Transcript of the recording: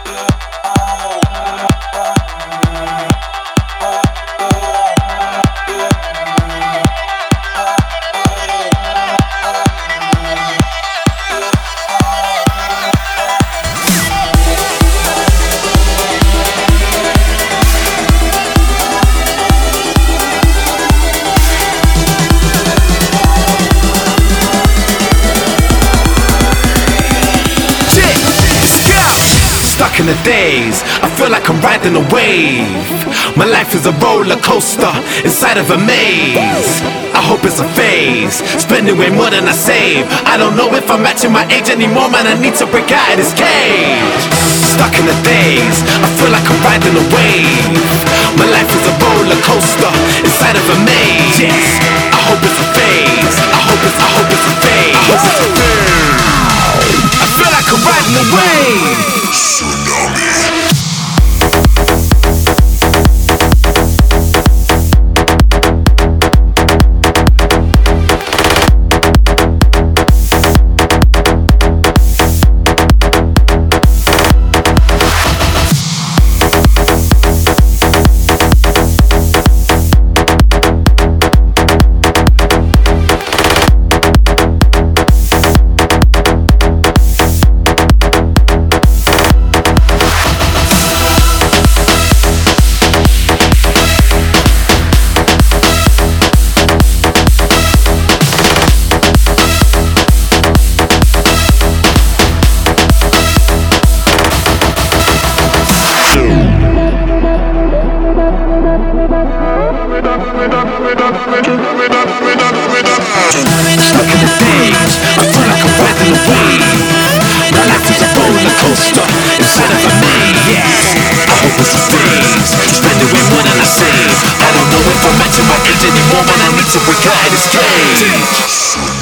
Stuck in the days, I feel like I'm riding a wave. My life is a roller coaster inside of a maze. I hope it's a phase, spending way more than I save. I don't know if I'm matching my age anymore, man, I need to break out of this cage. Stuck in the days, I feel like I'm riding a wave. My life is a roller coaster inside of a maze. I hope it's a phase, I hope it's a phase. I feel like I'm riding a wave. Tsunami. Inside of a maze, I hope it's a phase. Spending way more than I save. I don't know if I'm matching my age anymore, man, I need to break out of this cage.